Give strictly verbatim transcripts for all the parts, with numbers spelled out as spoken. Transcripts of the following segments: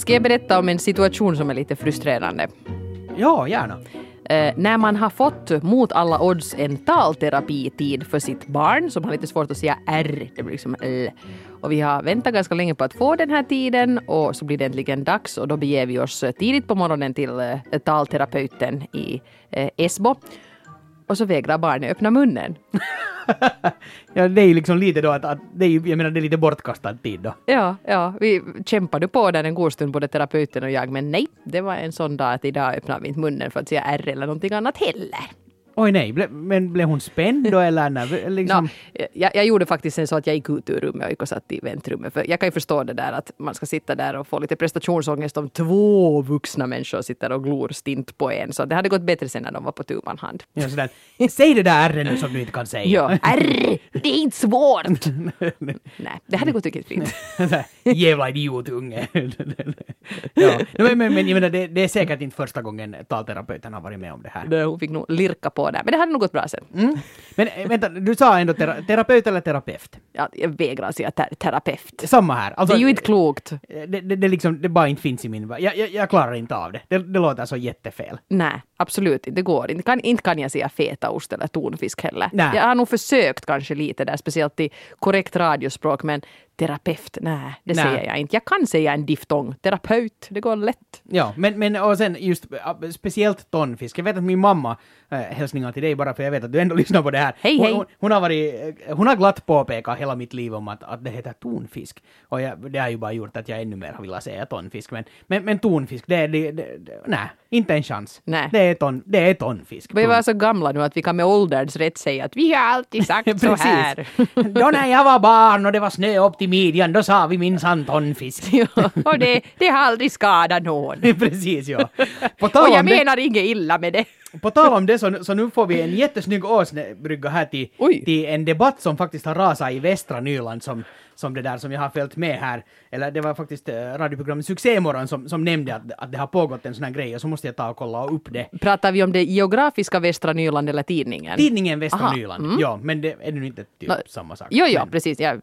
Ska jag berätta om en situation som är lite frustrerande? Ja, gärna. Eh, när man har fått mot alla odds en talterapitid för sitt barn som har lite svårt att säga R, det blir liksom L. Och vi har väntat ganska länge på att få den här tiden och så blir det äntligen dags och då beger vi oss tidigt på morgonen till eh, talterapeuten i eh, Esbo. Och så vägrar barnet öppna munnen. Ja, det är ju liksom lite då att, att det är, jag menar det är lite bortkastad tid då. Ja, ja, vi kämpade på där en god stund, både terapeuten och jag, men nej, det var en sån dag att idag öppnar vi inte munnen för att säga R eller någonting annat heller. Oj nej, ble, men blev hon spänd då eller? När, liksom... no, jag, jag gjorde faktiskt en så att jag gick ut ur rummet och gick och satt i väntrummet. För jag kan ju förstå det där att man ska sitta där och få lite prestationsångest om två vuxna människor sitter och glor stint på en. Så det hade gått bättre sen när de var på tu man hand. Ja, sådär. Säg det där R nu som du inte kan säga. Ja, R, det är inte svårt. Nej, det hade gått riktigt fint. Jävla idiotunge. Ja. Men, men, men jag menar, det, det är säkert inte första gången talterapeuten har varit med om det här. Nej, hon fick nog lirka på det. Men det hade nog gått bra sen. Mm. Men vänta, du sa ändå tera- terapeut eller terapeut? Ja, jag vägrar säga ter- terapeut. Samma här. Alltså, det är ju inte klokt. Det, det, det, liksom, det bara inte finns i min värld. Jag, jag, jag klarar inte av det. det. Det låter så jättefel. Nej, absolut inte. Det går inte. Kan, inte kan jag säga fetaost eller tonfisk heller. Nej. Jag har nog försökt kanske lite där, speciellt i korrekt radiospråk, men terapeut, nej, det nej. säger jag inte. Jag kan säga en diftong. Terapeut, det går lätt. Ja, men, men och sen just speciellt tonfisk. Jag vet att min mamma, äh, hälsningar till dig bara för jag vet att du ändå lyssnar på det här. Hej, hon, hej. Hon, hon har varit, hon har glatt påpekat hela mitt liv om att, att det heter tonfisk. Och jag, det har ju bara gjort att jag ännu mer har velat säga tonfisk. Men, men, men tonfisk, det är, det, det, det, nej, inte en chans. Nej. Det är, ton, det är tonfisk. Vi var så gamla nu att vi kan med ålderns rätt säga att vi har alltid sagt så här. Då när jag var barn och det var snö upp till midjan, då sa vi minsann tonfisk. Ja, och det, det har aldrig skadat någon. Precis, ja. På tal Och jag om det, menar inget illa med det. på tal om det så, så nu får vi en jättesnygg åsnebrygga här till, till en debatt som faktiskt har rasat i västra Nyland som, som det där som jag har följt med här. Eller det var faktiskt eh, radioprogrammet Succémorgon som, som nämnde att, att det har pågått en sån här grej och så måste jag ta och kolla upp det. Pratar vi om det geografiska västra Nyland eller tidningen? Tidningen Västra Aha, Nyland, mm. ja, men det är nu inte typ no, samma sak. Jo, ja, men. precis. Jag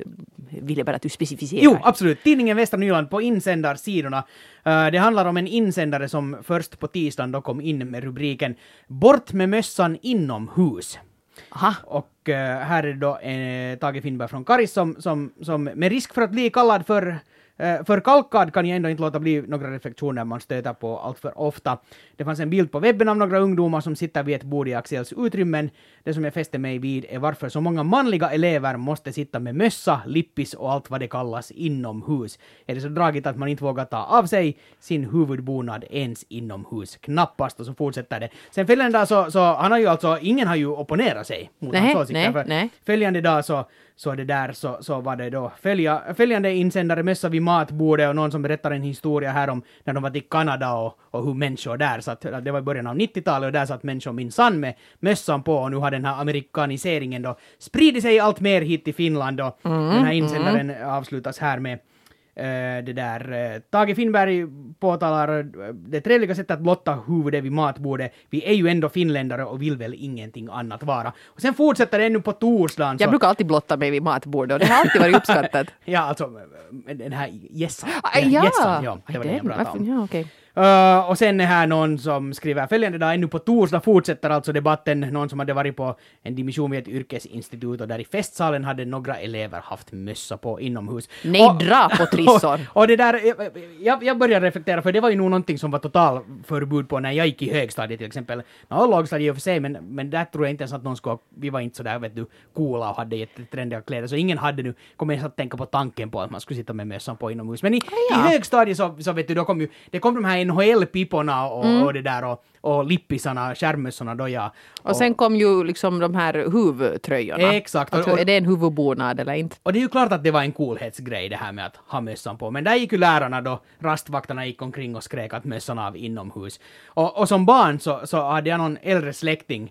ville bara att du specificerar. Jo, absolut. Tidningen Västra Nyland på insändarsidorna. Uh, det handlar om en insändare som först på tisdagen då kom in med rubriken Bort med mössan inomhus. Aha. Och uh, här är då uh, Tage Finnberg från Karis som, som, som med risk för att bli kallad för Uh, för kalkad kan jag ändå inte låta bli några reflektioner man stöter på allt för ofta. Det fanns en bild på webben av några ungdomar som sitter vid ett bord i Axels utrymmen. Det som jag fäste mig vid är varför så många manliga elever måste sitta med mössa, lippis och allt vad det kallas inomhus. Är det så dragigt att man inte vågar ta av sig sin huvudbonad ens inomhus? Knappast, och så fortsätter det. Sen följande dag så, så han har ju alltså, ingen har ju opponerat sig mot nej, hans åsikter. Nej, för nej. Följande dag så Så det där så, så var det då följa, följande insändare mössa vid matbordet och någon som berättar en historia här om när de var till Kanada och, och hur människor där satt. Det var i början av nittiotalet och där satt människor minsann med mössan på och nu har den här amerikaniseringen då spridit sig allt mer hit till Finland och mm, den här insändaren mm. avslutas här med Uh, det där uh, Tage Finnberg påtalar uh, det trevliga sättet att blotta huvudet vid matbordet. Vi är ju ändå finländare och vill väl ingenting annat vara. Och sen fortsätter det ännu på torsdagen. Jag så... brukar alltid blotta mig vid matbordet och det har alltid varit uppskattat. Ja, alltså den här gässan. Ah, ja. Gässan, ja, det var Aj, det jag pratade om. Ja, okay. Uh, och sen är här någon som skriver följande dag, ännu på torsdag fortsätter alltså debatten, någon som hade varit på en dimission vid ett yrkesinstitut och där i festsalen hade några elever haft mössa på inomhus. Nej, och, dra på trissor. Och, och det där, jag, jag började reflektera för det var ju nog någonting som var total förbud på när jag gick i högstadiet till exempel. Ja, lågstadiet i och för sig, men, men där tror jag inte ens att någon skulle, vi var inte sådär, vet du, coola och hade jättetrendiga kläder, så ingen hade nu, kommer ens att tänka på tanken på att man skulle sitta med mössan på inomhus. Men i, ja. i högstadiet så, så vet du, då kom ju, det kom de här N H L-piporna och, mm. och det där och, och lippisarna, skärmössorna då ja. Och, och sen kom ju liksom de här huvudtröjorna. Exakt. Alltså, och, är det en huvudbonad eller inte? Och det är ju klart att det var en coolhetsgrej det här med att ha mössan på. Men där gick ju lärarna då, rastvaktarna gick omkring och skrek att mössan av inomhus. Och, och som barn så, så hade jag någon äldre släkting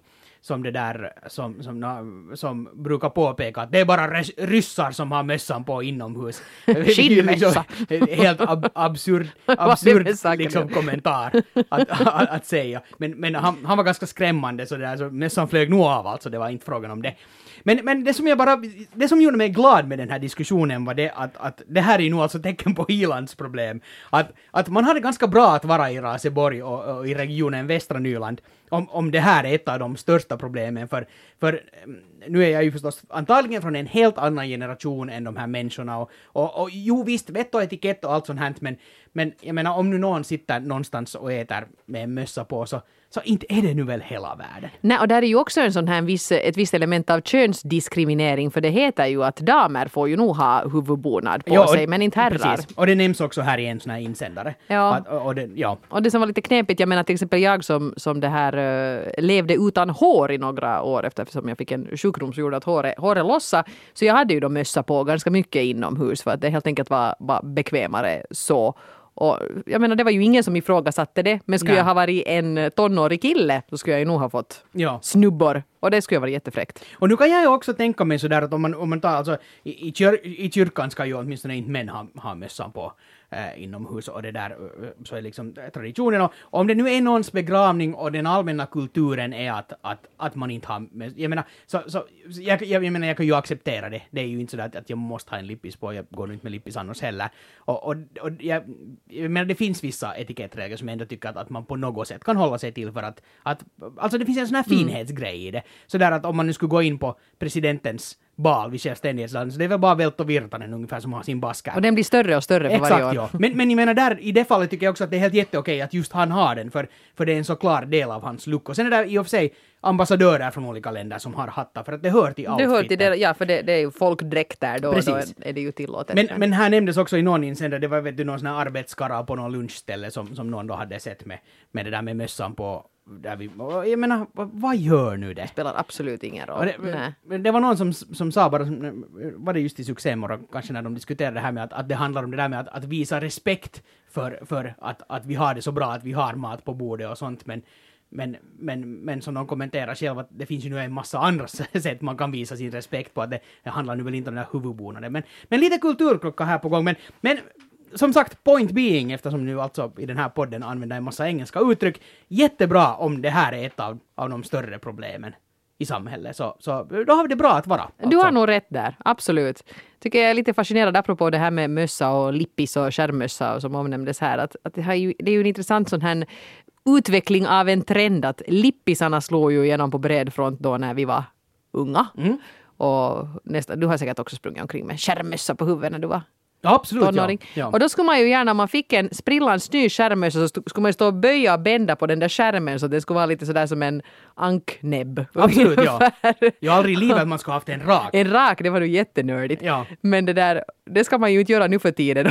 som det där som, som, som brukar påpeka att det är bara res, ryssar som har mössan på inomhus. Skinnmössa. Helt ab, absurd, absurd liksom, kommentar att, att, att säga. Men, men han, han var ganska skrämmande så, där, så mössan flög nog av, alltså det var inte frågan om det. Men, men det som jag bara, det som gjorde mig glad med den här diskussionen var det att, att det här är ju nog alltså tecken på ilandsproblem. Att, att man hade ganska bra att vara i Raseborg och, och i regionen Västra Nyland om, om det här är ett av de största problemen. För, för nu är jag ju förstås antagligen från en helt annan generation än de här människorna. Och, och, och jo visst, vett och etikett och allt sånt här, men, men jag menar om nu någon sitter någonstans och äter med en mössa på så Så inte är det nu väl hela världen. Nej, och där är ju också en sån här viss, ett visst element av könsdiskriminering, för det heter ju att damer får ju nog ha huvudbonad på ja, sig, men inte herrar. Precis. Och det nämns också här i en sån här insändare. Ja. Att, och, det, ja. och det som var lite knepigt, jag menar till exempel jag som, som det här uh, levde utan hår i några år eftersom jag fick en sjukdom som gjorde att håret, håret lossa, så jag hade ju då mössa på ganska mycket inomhus för att det helt enkelt var, var bekvämare så. Och jag menar, det var ju ingen som ifrågasatte det. Men skulle Nej. jag ha varit en tonårig kille så skulle jag ju nog ha fått ja. snubbor. Och det skulle ju vara jättefräckt. Och nu kan jag ju också tänka mig sådär att om man, om man tar alltså i, i, kyr, i kyrkan ska ju åtminstone inte män ha, ha mössan på eh, inomhus och det där så är liksom traditionen. Och om det nu är någons begravning och den allmänna kulturen är att, att, att man inte har mössan. Jag menar, så, så, jag, jag, jag menar, jag kan ju acceptera det. Det är ju inte så att, att jag måste ha en lippis på. Jag går inte med lippis annars heller. Och, och, och jag, jag menar, det finns vissa etikettregler som jag ändå tycker att, att man på något sätt kan hålla sig till för att, att alltså det finns en sån här finhetsgrej mm. i det. Så där att om man nu skulle gå in på presidentens bal vid självständighetsland, så det är väl bara Velto Virtanen ungefär som har sin baskar. Och den blir större och större för Exakt, varje år. Ja. Men, men jag menar där, i det fallet tycker jag också att det är helt jätteokej att just han har den, för, för det är en så klar del av hans look. Och sen är det i och för sig ambassadörer från olika länder som har hattar, för att det hör till outfiten. Det hör till det, ja, för det, det är ju folkdräkter då, då är det ju tillåtet. Men, men här nämndes också i någon insändare, det var vet du, någon sån här arbetskara på någon lunchställe som, som någon då hade sett med, med det där med mössan på. Där vi, jag menar, vad gör nu det? Det spelar absolut ingen roll. Det, det var någon som, som sa bara, var det just i Succémorgon kanske när de diskuterade det här med att, att det handlar om det där med att, att visa respekt för, för att, att vi har det så bra, att vi har mat på bordet och sånt, men Men, men, men som de kommenterar själv att det finns ju nu en massa andra sätt man kan visa sin respekt på, att det, det handlar nu väl inte om den här huvudbonaden. Men, men lite kulturklocka här på gång. Men, men som sagt, point being, eftersom nu alltså i den här podden använder en massa engelska uttryck, jättebra om det här är ett av, av de större problemen i samhället. Så, så då har vi det bra att vara. Alltså. Du har nog rätt där, absolut. Tycker jag är lite fascinerad apropå det här med mössa och lippis och skärmmössa och som omnämndes här. Att, att det, här är ju, det är ju en intressant sån här utveckling av en trend att lippisarna slår ju igenom på bred front då när vi var unga. Mm. Och nästa, du har säkert också sprungit omkring med skärmmössa på huvudet när du var ja, absolut, tonåring. Ja. Ja. Och då skulle man ju gärna, om man fick en sprillans ny skärmmössa så skulle man ju stå och böja och bända på den där skärmen så det skulle vara lite sådär som en anknäbb. Absolut, ja. Jag har aldrig i livet att man ska ha haft en rak. En rak, det var ju jättenördigt. Ja. Men det där, det ska man ju inte göra nu för tiden.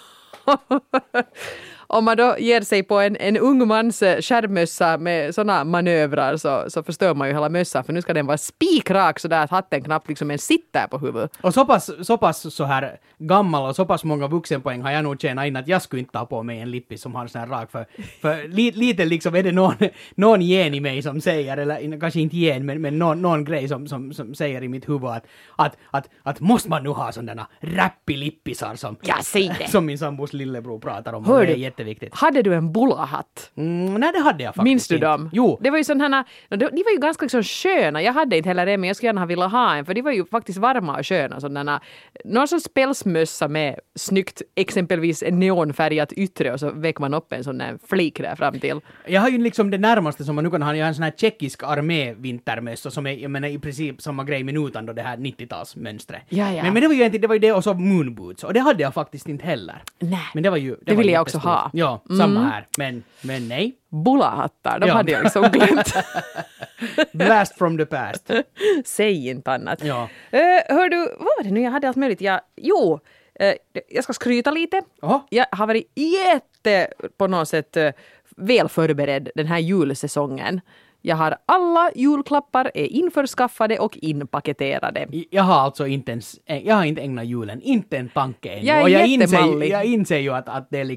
Om man då ger sig på en, en ung mans skärmmössa med sådana manövrar så, så förstör man ju hela mössan, för nu ska den vara spikrak så där att hatten knappt liksom en sitter på huvudet. Och så pass, så pass så här gammal och så pass många vuxenpoäng har jag nog tjänat in att jag skulle inte ta på mig en lippis som har en sån här rak, för, för li, lite liksom är det någon, någon gen i mig som säger, eller kanske inte gen, men, men någon, någon grej som, som, som säger i mitt huvud att, att, att, att måste man nu ha sådana rappilippisar som, ja, säg det. Som min sambos lillebror pratar om. Hör det är du? Jätteviktigt. Hade du en bullahatt? Mm, nej, det hade jag faktiskt. Minns du inte. dem? Jo. Det var ju sådana här, de var ju ganska liksom sköna. Jag hade inte heller det, men jag skulle gärna ha velat ha en, för de var ju faktiskt varma och sköna. Sådana, någon sån spelsmössa med snyggt, exempelvis en neonfärgat yttre, och så väcker man upp en sån där flik där fram till. Jag har ju liksom det närmaste som man nu kan ha, jag har en sån här tjeckisk armévintermössa som är, jag menar, i princip samma grej minutan då det här nittiotalsmönstret. Ja, ja. Men, men det var ju inte, det var ju det och så moonboots, och det hade jag faktiskt inte heller. Nej. Men det var ju... Det, det var ville jag också ha. Ja, samma här. Men, men nej. Bullahattar, de ja. hade jag liksom glömt. Blast from the past. Säg inte annat. Ja. Uh, hör du, vad var det nu jag hade allt möjligt? Jag, jo, uh, jag ska skryta lite. Aha. Jag har varit jätte på något sätt uh, väl förberedd den här julsäsongen. Jag har alla julklappar är införskaffade och inpaketerade. Jag har alltså inte ens, jag har inte ägnat julen, inte en tanke än. Jag är och jag inser, jättemallig. jag inser ju att, att det är liksom,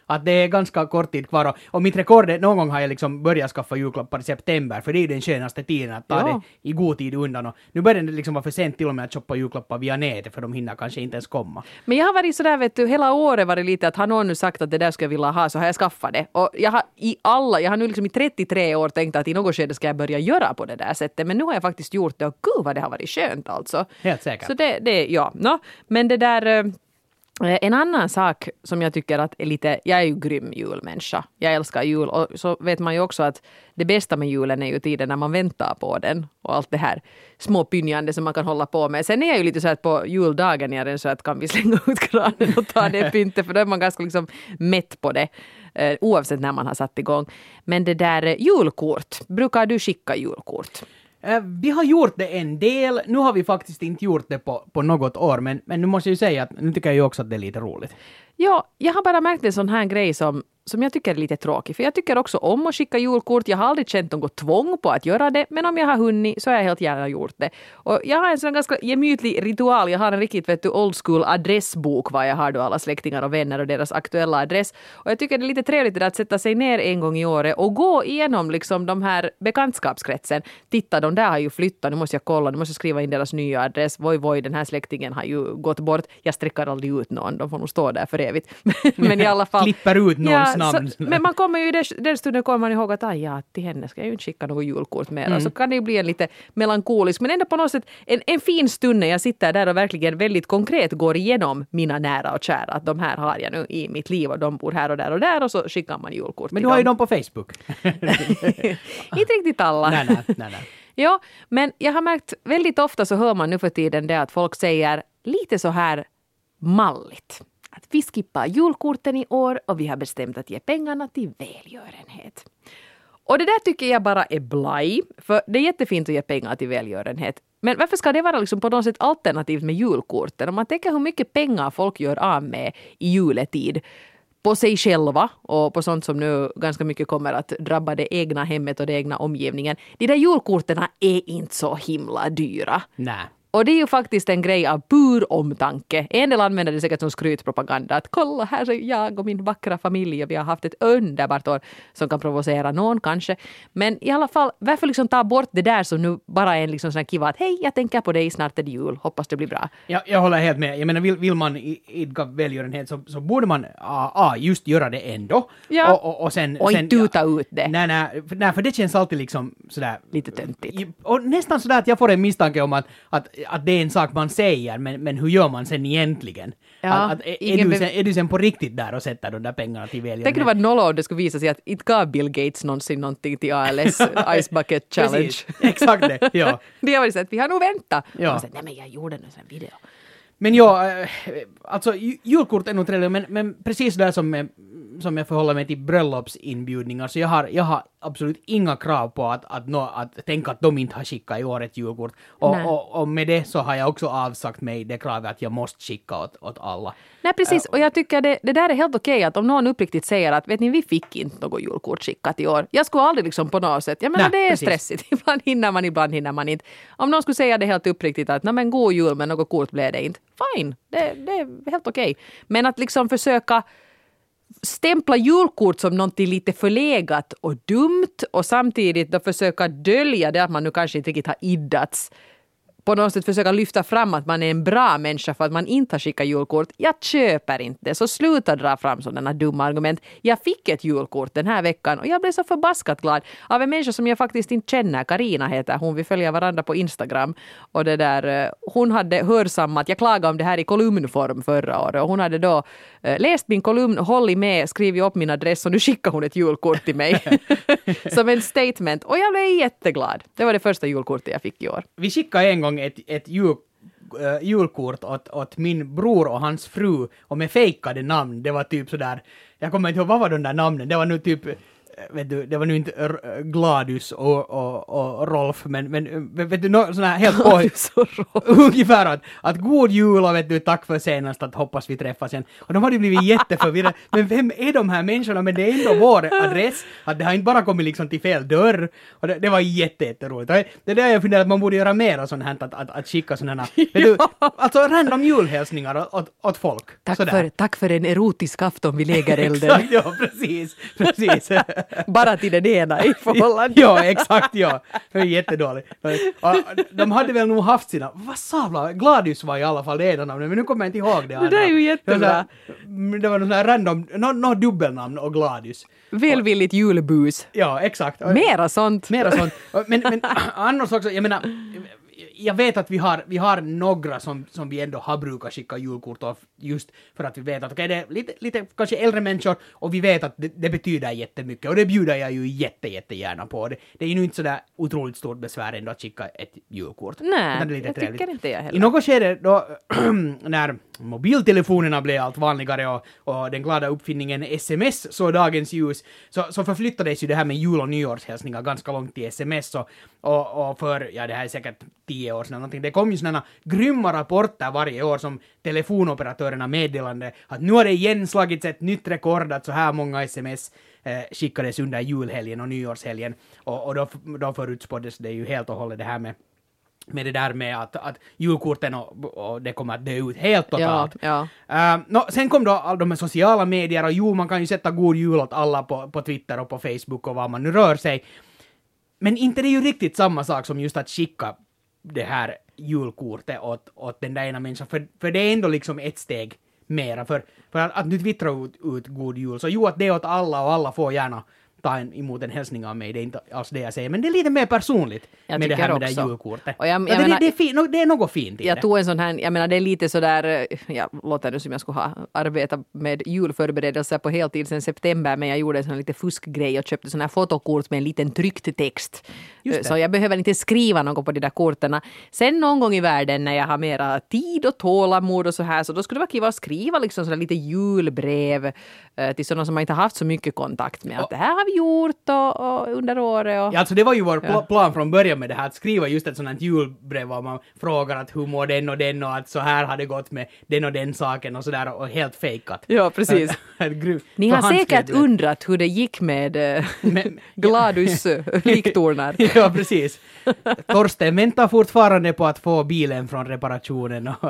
Att det är ganska kort tid kvar. Och, och mitt rekord är, någon gång har jag liksom börjat skaffa julklappar i september, för det är den skönaste tiden att ta Ja. det i god tid undan. Och nu börjar det liksom vara för sent till och med att shoppa julklappar via nätet, för de hinner kanske inte ens komma. Men jag har varit sådär, vet du, hela året varit lite att har någon nu sagt att det där ska jag vilja ha, så har jag skaffat det. Och jag har i alla, jag har nu liksom i trettiotre år tänkt att i något skede ska jag börja göra på det där sättet. Men nu har jag faktiskt gjort det och gud vad det har varit skönt alltså. Helt säkert. Så det, det ja. No, men det där... eh, En annan sak som jag tycker att är lite, jag är ju grym julmänniska. Jag älskar jul och så vet man ju också att det bästa med julen är ju tiden när man väntar på den och allt det här små pynjande som man kan hålla på med. Sen är jag ju lite så att på juldagen är det så att kan vi slänga ut kranen och ta det pyntet, för då är man ganska liksom mätt på det eh, oavsett när man har satt igång. Men det där eh, julkort, brukar du skicka julkort? Eh, Vi har gjort det en del. Nu har vi faktiskt inte gjort det på, på något år, men, men nu måste jag ju säga att nu tycker jag ju också att det är lite roligt. Ja, jag har bara märkt en sån här grej som, som jag tycker är lite tråkig. För jag tycker också om att skicka julkort. Jag har aldrig känt något tvång på att göra det. Men om jag har hunnit så har jag helt gärna gjort det. Och jag har en sån ganska gemytlig ritual. Jag har en riktigt vet du, old school adressbok var jag har då alla släktingar och vänner och deras aktuella adress. Och jag tycker det är lite trevligt att sätta sig ner en gång i året och gå igenom liksom de här bekantskapskretsen. Titta, de där har ju flyttat. Nu måste jag kolla. Nu måste jag skriva in deras nya adress. Voi, voi, den här släktingen har ju gått bort. Jag sträcker aldrig ut någon. De får nog stå där för evigt. Men i alla fall... Klipper ut någons Ja, namn. så, men man kommer ju i den, den stunden kommer man ihåg att aj, ja, till henne ska jag ju inte skicka något julkort mer. Mm. Och så kan det ju bli en lite melankolisk, men ändå på något sätt en, en fin stund när jag sitter där och verkligen väldigt konkret går igenom mina nära och kära. Att de här har jag nu i mitt liv och de bor här och där och där och så skickar man julkort. Men du har ju dem på Facebook. Inte riktigt alla. nej, nej, nej, nej. Ja, men jag har märkt väldigt ofta så hör man nu för tiden det att folk säger lite så här malligt. Att vi skippar julkorten i år och vi har bestämt att ge pengarna till välgörenhet. Och det där tycker jag bara är blaj, för det är jättefint att ge pengar till välgörenhet. Men varför ska det vara liksom på något sätt alternativt med julkorten? Om man tänker hur mycket pengar folk gör av med i juletid på sig själva och på sånt som nu ganska mycket kommer att drabba det egna hemmet och det egna omgivningen. De där julkorten är inte så himla dyra. Nej. Och det är ju faktiskt en grej av pur omtanke. En del använder det säkert som skrytpropaganda. Att kolla, här är jag och min vackra familj och vi har haft ett underbart år som kan provocera någon kanske. Men i alla fall, varför liksom ta bort det där som nu bara är en liksom sån här kiva att hej, jag tänker på dig, snart är det jul, hoppas det blir bra. Jag, jag håller helt med. Jag menar, vill, vill man idka välgörenhet så, så borde man ah, ah, just göra det ändå. Ja. Och, och, och, sen, Och sen, inte tuta ut det. Nej, nej, för, nej, för det känns alltid liksom sådär... Lite töntigt. Och nästan sådär att jag får en misstanke om att, att, att det är en sak man säger, men, men hur gör man sen egentligen? Ja, att, att, är, ingen du be- sen, är du sen på riktigt där och sätter de där pengarna till välgörenhet? Tänk det var noll om det skulle visa sig att inte gav Bill Gates någonsin någonting till A L S Ice Bucket Challenge. Precis, exakt det, ja. Det har varit så att vi har nog väntat. Ja. Och så, nej men jag gjorde en sån här video. Men ja, eh, alltså ju- julkort är nog trevligt, men, men precis där som, med, som jag förhåller mig till bröllopsinbjudningar, så jag har, jag har absolut inga krav på att, att, nå, att tänka att de inte har skickat i år ett julkort. Och, Nej. och, och med det så har jag också avsagt mig det kravet att jag måste skicka åt, åt alla. Nej precis, och jag tycker det, det där är helt okej att om någon uppriktigt säger att vet ni, vi fick inte något julkort skickat i år. Jag skulle aldrig liksom på något sätt, jag menar Nej, det är precis. stressigt. Ibland hinner man, ibland hinner man inte. Om någon skulle säga det helt uppriktigt att nej men god jul men något kort blev det inte. Fine, det, det är helt okej. Men att liksom försöka stämpla julkort som någonting lite förlegat och dumt och samtidigt då försöka dölja det att man nu kanske inte riktigt har iddats. På något sätt försöka lyfta fram att man är en bra människa för att man inte har skickat julkort. Jag köper inte. Så sluta dra fram sådana dumma argument. Jag fick ett julkort den här veckan och jag blev så förbaskat glad av en människa som jag faktiskt inte känner. Karina heter hon. Vi följer varandra på Instagram. Och det där, hon hade hörsammat, jag klagade om det här i kolumnform förra året. Och hon hade då eh, läst min kolumn, hållit med, skrivit upp min adress och nu skickar hon ett julkort till mig. Som en statement. Och jag blev jätteglad. Det var det första julkortet jag fick i år. Vi skickade en gång ett, ett jul, äh, julkort åt, åt min bror och hans fru och med fejkade namn. Det var typ sådär, jag kommer inte ihåg vad var de där namnen, det var nu typ vet du, det var nu inte R- Gladys och, och, och Rolf, men, men vet du, no, sån här helt på ungefär att, att god jul och vet du, tack för senast, att hoppas vi träffas igen. Och de hade blivit jätteförvirrade. Men vem är de här människorna? Men det är ändå vår adress, att det har inte bara kommit liksom till fel dörr. Och det, det var jätte, jätteroligt. Och det är där jag funderar att man borde göra mer sånt här, att, att, att skicka sådana här, vet du, alltså random julhälsningar åt, åt folk. Tack för, tack för en erotisk afton vid lägerelden. Exakt, ja, precis, precis. Bara till den ena i förhållande. Ja, exakt, ja. Det är jättedåligt. De hade väl nog haft sina, vad sa jag? Gladys var i alla fall det ena namnet, men nu kommer jag inte ihåg det. Det där är ju jättebra. Det var någon sån här random, något no, dubbelnamn och Gladys. Välvilligt julbus. Ja, exakt. Mera sånt. Mera sånt. Men, men annars också, jag menar, jag vet att vi har, vi har några som, som vi ändå har brukat skicka julkort av, just för att vi vet att okay, det är lite, lite kanske äldre människor och vi vet att det, det betyder jättemycket och det bjuder jag ju jätte, jättegärna på. Det, det är ju inte sådär otroligt stort besvär ändå att skicka ett julkort. Nej, det är lite jag trevligt. tycker inte jag heller. I något skede då, när mobiltelefonerna blev allt vanligare och, och den glada uppfinningen sms så dagens ljus, så, så förflyttades ju det här med jul- och nyårshälsningar ganska långt till sms och, och, och för, ja det här är säkert tio år sedan någonting, det kom ju sådana grymma rapporter varje år som telefonoperatörerna meddelande att nu har det igen slagits ett nytt rekord att så här många sms eh, skickades under julhelgen och nyårshelgen och, och då, då förutspåddes det ju helt och hållet det här med med det där med att, att julkorten och, och det kommer att dö ut helt totalt. Ja, ja. Uh, no, sen kom då alla de här sociala medier och jo, man kan ju sätta god jul åt alla på, på Twitter och på Facebook och vad man nu rör sig. Men inte det är ju riktigt samma sak som just att skicka det här julkortet åt, åt den där ena människan. För, för det är ändå liksom ett steg mera. För, för att, att nu twittra ut, ut god jul. Så jo, att det är åt alla och alla får gärna ta en, emot en hälsning av mig. Det är inte alls det jag säger. Men det är lite mer personligt jag med det här med också. det här julkortet. Och jag, jag ja, det, menar, det, är fin, det är något fint i jag det. tog en sån här, jag menar det är lite sådär, jag låter nu som jag skulle ha arbetat med julförberedelser på heltid sedan september, men jag gjorde en sån lite fuskgrej och köpte sån här fotokort med en liten tryckt text. Så jag behöver inte skriva något på de där korten. Sen någon gång i världen när jag har mera tid och tålamod och så här, så då skulle det vara kul att skriva liksom sådär lite julbrev eh, till sådana som man inte har haft så mycket kontakt med. Att det här har vi gjort och, och under året. Och... Ja, alltså det var ju vår pl- Ja. plan från början med det här, att skriva just ett sånt här julbrev och man frågar att hur mår den och den och att så här har det gått med den och den saken och sådär och helt fejkat. Ja, precis. Ni har säkert undrat hur det gick med äh, Men- Gladys äh, liktornar. Ja, precis. Torsten väntar fortfarande på att få bilen från reparationen och,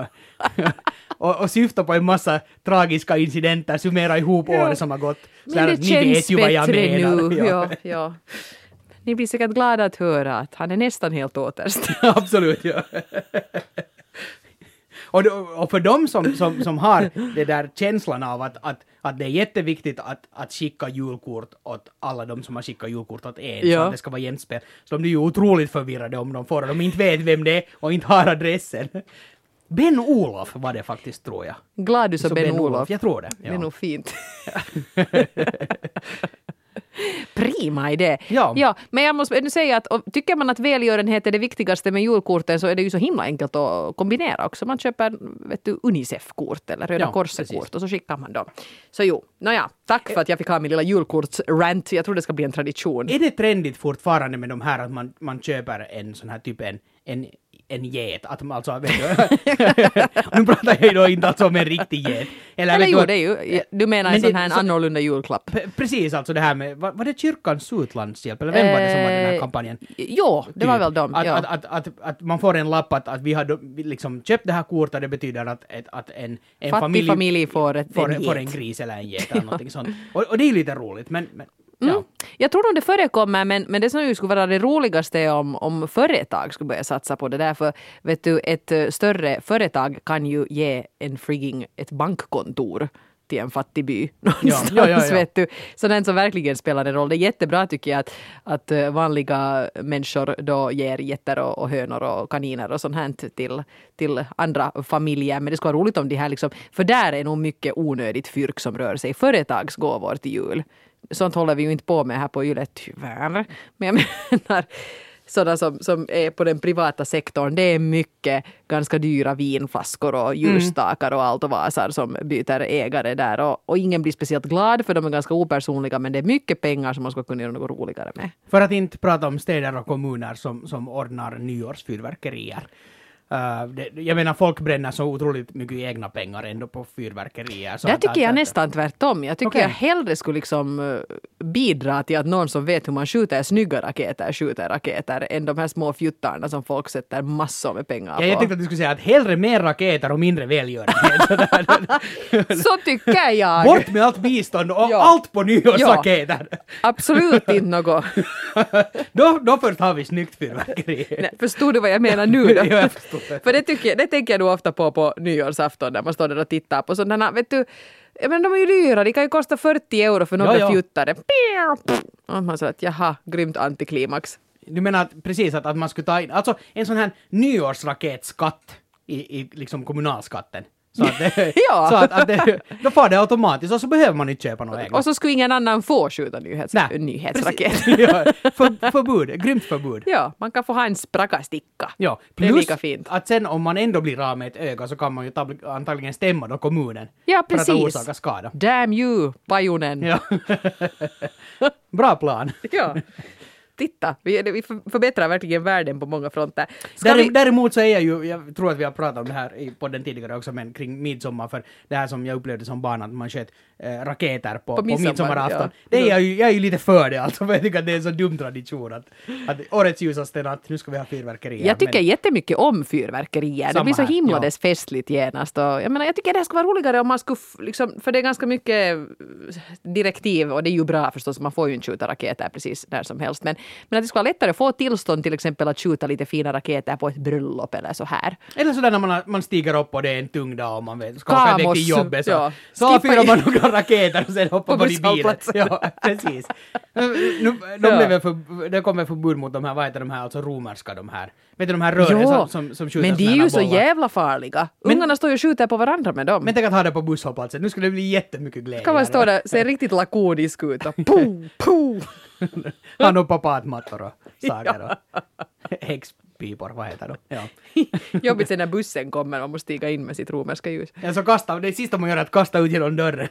och, och syftar på en massa tragiska incidenter, summera ihop Ja. året som har gått. Så Men här, det ni känns vet ju vad jag bättre menar. nu. Ja. Ja, ja. Ni blir säkert glada att höra att han är nästan helt återställd. Absolut, ja. Och, då- och för dem som, som, som har det där känslan av att, att, att det är jätteviktigt att, att skicka julkort åt alla de som har skickat julkort åt en, Ja. så att det ska vara jämspel. Så de blir ju otroligt förvirrade om de får och de inte vet vem det är och inte har adressen. Ben-Olof var det faktiskt, tror jag. Gladys och Så Ben-Olof. Jag tror det. Det är Ja. nog fint. Prima idé. Ja. ja, men jag måste ändå säga att och, tycker man att välgörenhet är det viktigaste med julkorten så är det ju så himla enkelt att kombinera också. Man köper vet du, Unicef-kort eller Röda Ja, Korset-kort precis. och så skickar man dem. Så jo, nåja, tack för att jag fick ha min lilla julkorts-rant. Jag tror det ska bli en tradition. Är det trendigt fortfarande med de här att man, man köper en sån här typ en, en, en get? Att man alltså, vet du, nu pratar jag ju då inte alltså om en riktig get. Eller vet jo, du, det är ju, du menar Men en sån det- här så- annorlunda julklapp. P- precis, alltså det här med, var, var det kyrkans utlandshjälp, eller vem var det som var den här Eh, kampanjen? Jo, det var Typ. väl dem. Att, ja. att, att, att, att man får en lapp att, att vi har då, vi liksom köpt det här kortet, det betyder att, att, att en, en Fattig familj, familj får, ett, får, en får en get. gris eller en get eller någonting sånt. Och, och det är ju lite roligt, men, men ja. Mm. Jag tror nog det förekommer, men, men det som ju skulle vara det roligaste är om, om företag skulle börja satsa på det där. För vet du, ett eh, större företag kan ju ge en frigging ett bankkontor till en fattig by någonstans, ja, ja, ja. vet du. Så den som verkligen spelar en roll. Det är jättebra tycker jag att, att eh, vanliga människor då ger getter och, och hönor och kaniner och sånt här till, till andra familjer. Men det skulle vara roligt om de här liksom, för där är nog mycket onödigt fyrk som rör sig. Företagsgåvor till jul. Sånt håller vi ju inte på med här på Yle tyvärr. Men jag menar, sådana som, som är på den privata sektorn, det är mycket ganska dyra vinflaskor och ljusstakar och allt och vasar som byter ägare där. Och, och ingen blir speciellt glad för de är ganska opersonliga, men det är mycket pengar som man ska kunna göra något roligare med. För att inte prata om städer och kommuner som, som ordnar nyårsfyrverkerier. Uh, det, jag menar, folk bränner så otroligt mycket egna pengar ändå på fyrverkerier. Så Där att, tycker att, jag att, nästan tvärtom. Jag tycker okay. jag hellre skulle liksom uh, bidra till att någon som vet hur man skjuter snygga raketer skjuter raketer än de här små fjuttarna som folk sätter massor med pengar ja, på. jag tänkte att du skulle säga att hellre mer raketer och mindre välgörenhet. Så tycker jag. Bort med allt bistånd och ja. allt på nyårsraketer. Ja. Absolut inte något. då, då först har vi snyggt fyrverkeri. Nej, förstod du vad jag menar nu då? Ja, jag förstår. För det, tycker, det tänker jag nog ofta på på nyårsafton när man står där och tittar på sådana, vet du, jag menar, de är ju dyra, de kan ju kosta fyrtio euro för några ja, ja. fjuttare. Och man säger att jaha, grymt antiklimax. Du menar att, precis att, att man skulle ta in, alltså en sån här nyårsraketskatt i, i liksom kommunalskatten. Så att, det, ja. så att, att det, då får det automatiskt och så behöver man inte köpa något egna. Och så skulle ingen annan få skjuta nyhets, Nej, nyhetsraket. ja, för, förbud, grymt förbud. Ja, man kan få ha en sprakasticka. Ja, det är plus lika fint. att sen om man ändå blir av med ett öga så kan man ju tab- antagligen stämma då kommunen. Ja, precis. För att orsaka skada. Damn you, pajunen. Ja. Bra plan. Ja. Titta, vi, vi förbättrar verkligen världen på många fronter. Där, vi... Däremot så är jag ju, jag tror att vi har pratat om det här i podden tidigare också, men kring midsommar, för det här som jag upplevde som barn, att man sköt äh, raketer på, på, på midsommar, midsommarafton. Ja. Det är jag, ju, jag är ju lite för det alltså, för jag tycker att det är en så dum tradition att, att årets ljusaste natt, nu ska vi ha fyrverkerier. Jag tycker men... jättemycket om fyrverkerier. Det blir så himla ja. dess festligt genast. Och jag menar, jag tycker det här skulle vara roligare om man skulle, liksom, för det är ganska mycket direktiv och det är ju bra förstås, man får ju inte skjuta raketer precis där som helst. Men, men att det skulle vara lättare att få tillstånd till exempel att skjuta lite fina raketer på ett bröllop eller så här. Eller sådär när man, man stiger upp och det är en tung dag och man vet, ska åka direkt till jobbet så, ja. så fyrar man några raketer och sen hoppar man i bilen. Ja, precis. Nu, de ja. blev för, det kommer förbud mot de här, vad heter de här, alltså romerska de här. Vet du de här rören jo, som, som, som skjuter men de är ju så bollar. jävla farliga. Men, ungarna står ju och skjuter på varandra med dem. Men tänk att ha det på busshållplatsen. Nu skulle det bli jättemycket glädje. Kan man stå där, se riktigt lakonisk ut och puh, puh. Han och papaatmattor och saker och häxpipor, vad heter de? Ja. Jobbigt sen när bussen kommer och man måste stiga in med sitt romerska ljus. Ja, så kasta, det sista man gör är att kasta ut genom dörren.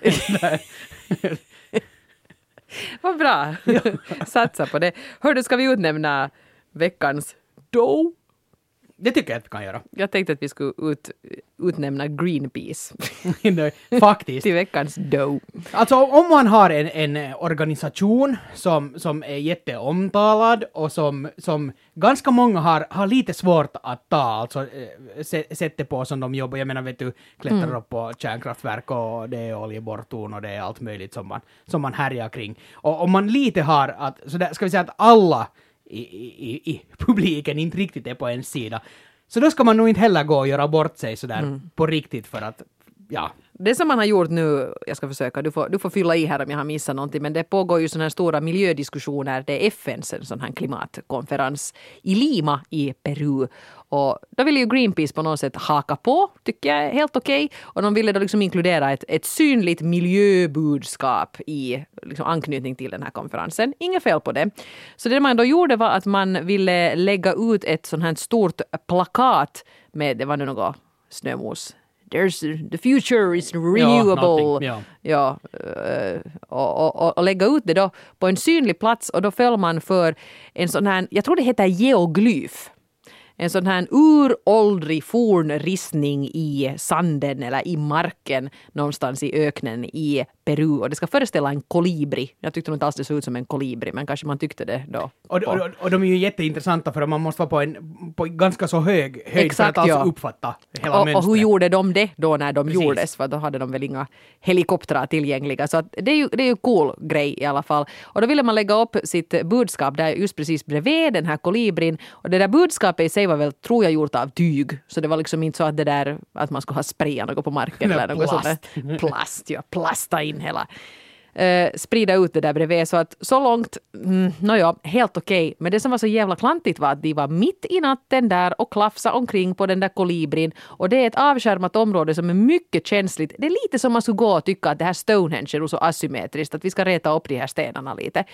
Vad bra. Satsa på det. Hördu, ska vi utnämna veckans dough? Det tycker jag att vi kan göra. Jag tänkte att vi skulle ut, utnämna Greenpeace. Faktiskt. Till veckans dough. Alltså om man har en, en organisation som, som är jätteomtalad och som, som ganska många har, har lite svårt att ta, alltså sättet på som de jobbar. Jag menar, vet du, klättrar mm. upp på kärnkraftverk och det är oljeborrtorn och det är allt möjligt som man, som man härjar kring. Och om man lite har att, så där, ska vi säga att alla I, i, i publiken inte riktigt är på en sida. Så då ska man nog inte heller gå och göra bort sig sådär mm. på riktigt för att, ja. Det som man har gjort nu, jag ska försöka, du får, du får fylla i här om jag har missat någonting, men det pågår ju sådana här stora miljödiskussioner, det är F N:s en sån här klimatkonferens i Lima i Peru. Och då ville ju Greenpeace på något sätt haka på, tycker jag är helt okej. Okay. Och de ville då liksom inkludera ett, ett synligt miljöbudskap i liksom anknytning till den här konferensen. Inget fel på det. Så det man då gjorde var att man ville lägga ut ett sånt här stort plakat med, det var nu något snömos. There's, the future is renewable. Ja, ja uh, och, och, och lägga ut det då på en synlig plats och då föll man för en sån här, jag tror det heter geoglyf. En sån här uråldrig fornristning i sanden eller i marken någonstans i öknen i Peru. Och det ska föreställa en kolibri. Jag tyckte nog inte alls det såg ut som en kolibri, men kanske man tyckte det då. Och, och, och de är ju jätteintressanta för att man måste vara på en på ganska så hög höjd exakt, för att ja. alltså uppfatta hela och, mönstret. Och hur gjorde de det då när de precis. gjordes? För då hade de väl inga helikoptrar tillgängliga. Så att det är ju det är ju cool grej i alla fall. Och då ville man lägga upp sitt budskap där just precis bredvid den här kolibrin. Och det där budskapet i sig var väl, tror jag, gjort av tyg. Så det var liksom inte så att det där att man skulle ha sprayat något på marken eller något plast. sånt. Plast, ja. Plasta in hela. Uh, sprida ut det där bredvid. Så att så långt, mm, nåja, helt okej. Okay. Men det som var så jävla klantigt var att de var mitt i natten där och klafsa omkring på den där kolibrin. Och det är ett avskärmat område som är mycket känsligt. Det är lite som man skulle gå och tycka att det här Stonehenge är så asymmetriskt, att vi ska reta upp de här stenarna lite.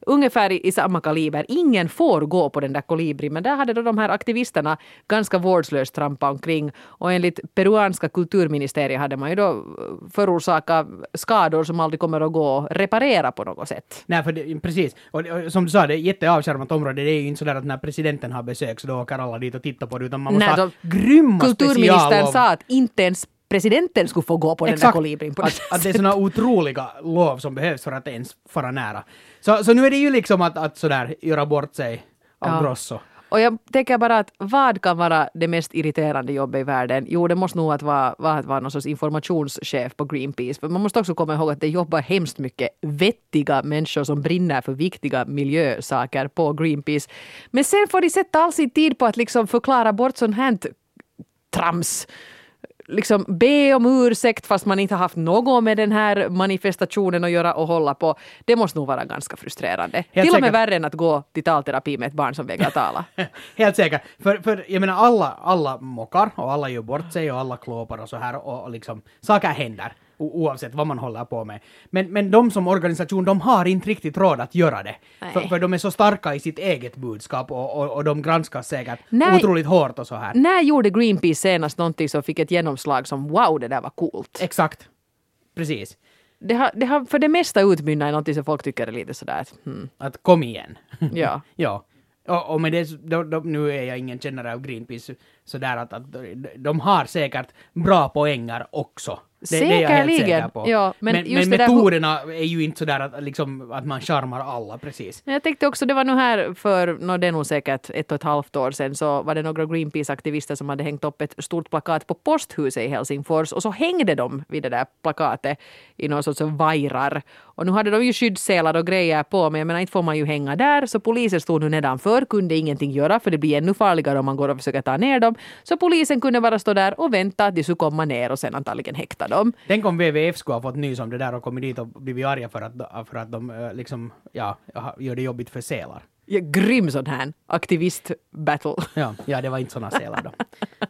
ungefär i, i samma kaliber. Ingen får gå på den där kolibrin, men där hade då de här aktivisterna ganska vårdslöst trampat omkring, och enligt peruanska kulturministeriet hade man ju då förorsakat skador som aldrig kommer att gå att reparera på något sätt. Nej, för det, precis. Och, och som du sa, det är ett jätteavskärmat område. Det är ju inte sådär att när presidenten har besök så då åker alla dit och tittar på det, utan man måste Nej, ha grymma kulturministern speciallov. sa att inte ens presidenten skulle få gå på Exakt. den där kolibrin. På att, att det är såna otroliga lov som behövs för att ens fara nära. Så, så nu är det ju liksom att, att sådär göra bort sig av Ja. Grosso. Och jag tänker bara att vad kan vara det mest irriterande jobbet i världen? Jo, det måste nog att vara, vara, att vara någon sorts informationschef på Greenpeace. För man måste också komma ihåg att det jobbar hemskt mycket vettiga människor som brinner för viktiga miljösaker på Greenpeace. Men sen får de sätta all sin tid på att liksom förklara bort sånt här trams. Liksom be om ursäkt fast man inte har haft något med den här manifestationen att göra och hålla på. Det måste nog vara ganska frustrerande. Helt Till och med säkert. värre än att gå till talterapi med ett barn som vägrar tala. Helt säkert. För, för jag menar, alla, alla mockar och alla gör bort sig och alla klåpar och så här och, och liksom saker händer o- oavsett vad man håller på med. Men, men de som organisation, de har inte riktigt råd att göra det. För, för de är så starka i sitt eget budskap och, och, och de granskas säkert Nej. otroligt hårt och så här. När gjorde Greenpeace senast någonting som fick ett genomslag som wow, det där var coolt? Exakt. Precis. Det har, det har för det mesta utmynnat i någonting som folk tycker är lite sådär att, hmm, Att kom igen. ja. Ja. Och, och med det, då, då, nu är jag ingen kännare av Greenpeace, sådär att, att de har säkert bra poänger också. Det, det är jag helt säker Säkerligen, på. ja, men men just men det där- metoderna är ju inte sådär att, liksom, att man charmar alla, precis. Jag tänkte också, det var nu här för, no, det är nog säkert ett och ett halvt år sedan, så var det några Greenpeace-aktivister som hade hängt upp ett stort plakat på posthuset i Helsingfors, och så hängde de vid det där plakatet i någon sorts vajrar. Och nu hade de ju skyddsselar och grejer på, men jag menar, inte får man ju hänga där, så polisen stod nu nedanför, kunde ingenting göra, för det blir ännu farligare om man går och försöker ta ner dem. Så polisen kunde bara stå där och vänta att de skulle komma ner och sen antagligen häkta dem. Tänk om W W F skulle ha fått nys om det där och kommit dit och blivit arga för att, för att de eh, liksom, ja, gör det jobbigt för sälar. Ja, grym sån här aktivist-battle. Ja, ja, det var inte såna sälar då.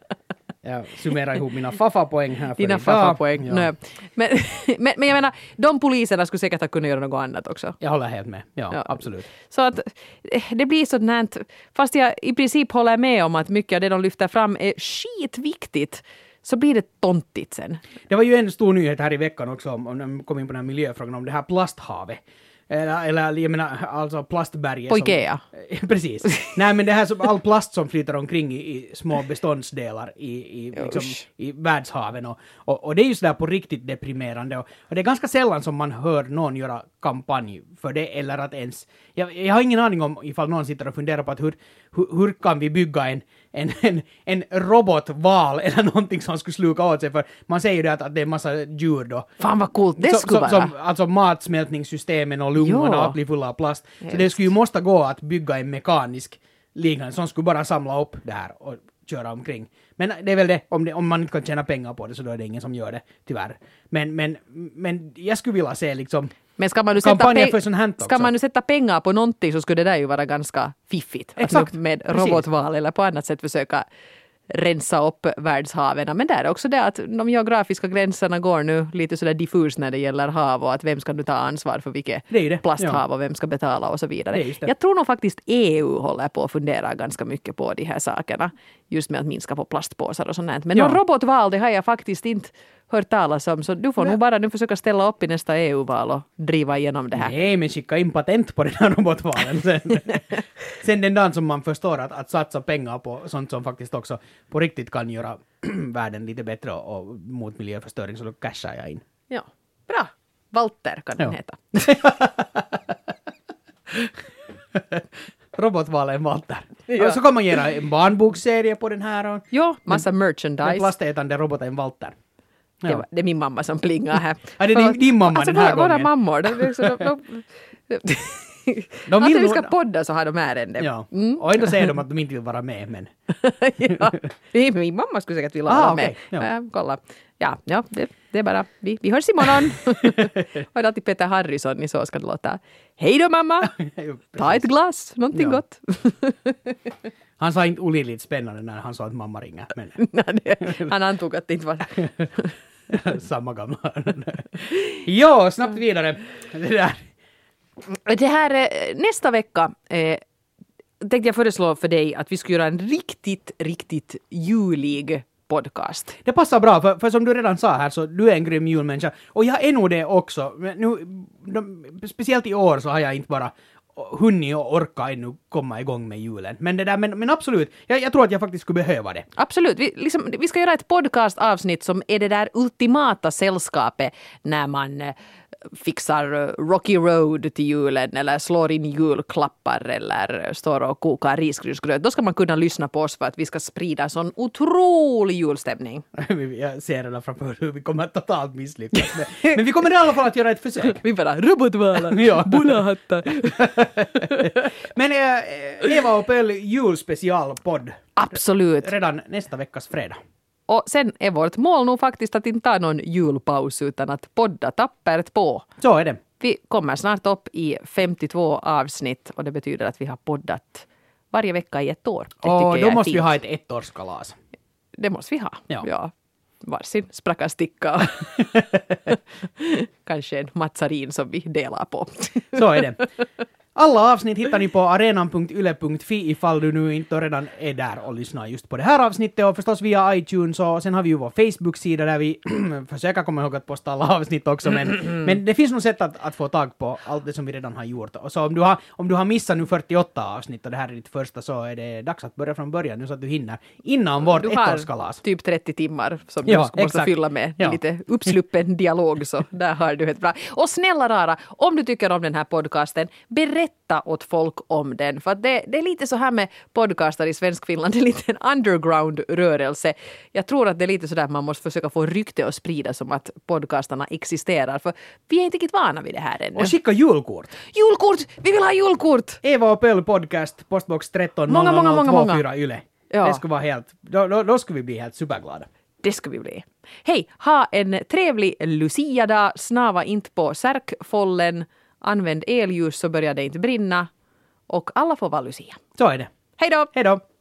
Jag summerar ihop mina faffa-poäng här för Dina idag. faffa-poäng. Ja. Nej. Men, men, men jag menar, de poliserna skulle säkert ha kunnat göra något annat också. Jag håller helt med. Ja, Ja. absolut. Så att eh, det blir sånt här, fast jag i princip håller med om att mycket av det de lyfter fram är skitviktigt, så blir det tontigt sen. Det var ju en stor nyhet här i veckan också, om, om de kom in på den här miljöfrågan, om det här plasthavet. Eller, eller jag menar, alltså plastberget. På som, Ikea. Precis. Nej, men det här som all plast som flyter omkring i, i små beståndsdelar i, i, liksom, Usch. i världshaven. Och, och, och det är ju sådär på riktigt deprimerande. Och, och det är ganska sällan som man hör någon göra kampanj för det, eller att ens... Jag, jag har ingen aning om ifall någon sitter och funderar på att hur, hur, hur kan vi bygga en, en, en, en robotval eller någonting som skulle sluka åt sig, för man säger ju det att, att det är massa djur då. Fan vad coolt det Så- skulle så- vara. Som, alltså matsmältningssystemen och lungorna Ja. och allt blir fulla av plast. Så Helt. det skulle ju måste gå att bygga en mekanisk liknande som skulle bara samla upp det här och köra omkring. Men det är väl det, om, det, om man inte kan tjäna pengar på det så då är det ingen som gör det, tyvärr. Men, men, men jag skulle vilja se liksom Men ska man, nu sätta kampanjer pe- för sånt här också. ska man nu sätta pengar på någonting så skulle det där ju vara ganska fiffigt. Att Exakt, nu med precis. robotval eller på annat sätt försöka rensa upp världshaven. Men där är också det att de geografiska gränserna går nu lite sådär diffus när det gäller hav, och att vem ska nu ta ansvar för vilket Det är ju det, plasthav och vem ska betala och så vidare. Det är just det. Jag tror nog faktiskt E U håller på att fundera ganska mycket på de här sakerna. Just med att minska på plastpåsar och sånt. Men Ja. någon robotval, det har jag faktiskt inte hört talas om. Så du får Nej. nog bara nu försöka ställa upp i nästa E U-val och driva igenom det här. Nej, men skicka in patent på den här robotvalen sen. Sen den dagen som man förstår att, att satsa pengar på sånt som faktiskt också på riktigt kan göra världen lite bättre och, och mot miljöförstöring, så då cashar jag in. Ja, bra. Walter kan den Ja. heta. Robotvalen Walter. Ja. Och så kan man göra en barnbokserie på den här och Jo, massa den merchandise. plastätande roboten Walter. Det, var, det är min mamma som plingar här. Ja, det är din- din mamma alltså, den här våra, gången. Våra mammor, de, de, de, de, de, De Alltid vill vi ska nog- podda så har de ärende. Ja, Mm. och ändå säger de att de inte vill vara med, men... Ja. Min mamma skulle säkert vilja Ah, vara okej, med. ja. Ja, kolla. Ja, ja det, det är bara, vi, vi hörs imorgon. Och det är alltid Peter Harrison, i så ska det låta. Hej då mamma! Ta ett glas, någonting Ja. gott. Han sa inte olidligt spännande när han sa att mamma ringer, men Nej, det- Han antog att det inte var... samma gamla. Ja, snabbt vidare. Det där. Det här, eh, nästa vecka eh, tänkte jag föreslå för dig att vi ska göra en riktigt, riktigt julig podcast. Det passar bra, för, för som du redan sa här så du är en grym julmänniska. Och jag är nog det också. Men nu, de, speciellt i år så har jag inte bara hunnit och orka ännu komma igång med julen. Men det där, men, men absolut, jag, jag tror att jag faktiskt skulle behöva det. Absolut. Vi, liksom, vi ska göra ett podcastavsnitt som är det där ultimata sällskapet när man eh, fixar Rocky Road till julen eller slår in julklappar eller står och kokar risgrynsgröt. Då ska man kunna lyssna på oss för att vi ska sprida sån otrolig julstämning. Jag ser redan framför hur vi kommer att totalt misslyckas. Men, men vi kommer i alla fall att göra ett försök. Vi bara robotvalar, ja. bullahattar. Men äh, Eva och Pöll julspecialpodd. Absolut. Redan nästa veckas fredag. Och sen är vårt mål nog faktiskt att inte ta någon julpaus utan att podda tappert på. Så är det. Vi kommer snart upp i femtiotvå avsnitt och det betyder att vi har poddat varje vecka i ett år. Det och då måste fint. vi ha ett ettårskalas. Det måste vi ha. Ja. ja. Varsin sprackarsticka. Kanske en matzarin som vi delar på. Så är det. Alla avsnitt hittar ni på arenan punkt yle punkt fi ifall du nu inte redan är där och lyssnar just på det här avsnittet och förstås via iTunes och sen har vi ju vår Facebook-sida där vi försöker komma ihåg att posta alla avsnitt också men, men det finns nog sätt att, att få tag på allt det som vi redan har gjort. Och så om du har, om du har missat nu fyrtioåtta avsnitt och det här är ditt första så är det dags att börja från början nu så att du hinner innan vårt ettårskalas. Typ trettio timmar som ja, du måste exakt. fylla med ja. lite uppsluppen dialog så där har du ett bra. Och snälla rara, om du tycker om den här podcasten, berätta åt folk om den. För att det, det är lite så här med podcastar i Svenskfinland, det är lite en underground-rörelse. Jag tror att det är lite så där att man måste försöka få rykte och sprida som att podcastarna existerar. För vi är inte riktigt vana vid det här ännu. Och skicka julkort. Julkort! Vi vill ha julkort! Eva och Pöll podcast, postbox tretton Många, många, många, noll noll två fyra Yle. Ja. Det skulle vara helt, då, då, då skulle vi bli helt superglada. Det ska vi bli. Hej, ha en trevlig Lucia-dag. Snava inte på särkfållen. Använd elljus så börjar det inte brinna. Och alla får vara Lucia. Så är det. Hej då! Hej då!